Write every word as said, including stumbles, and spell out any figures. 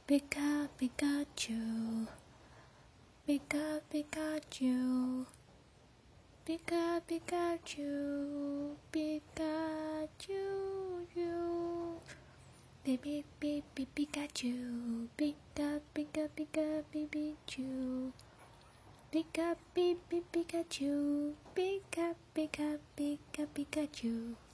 Pika Pikachu, Pika Pikachu, Pika Pikachu, Pikachu, you. Beep beep beep beep Pikachu, Pika Pika Pika Pikachu, Pika beep beep Pikachu, Pika Pika Pika Pikachu.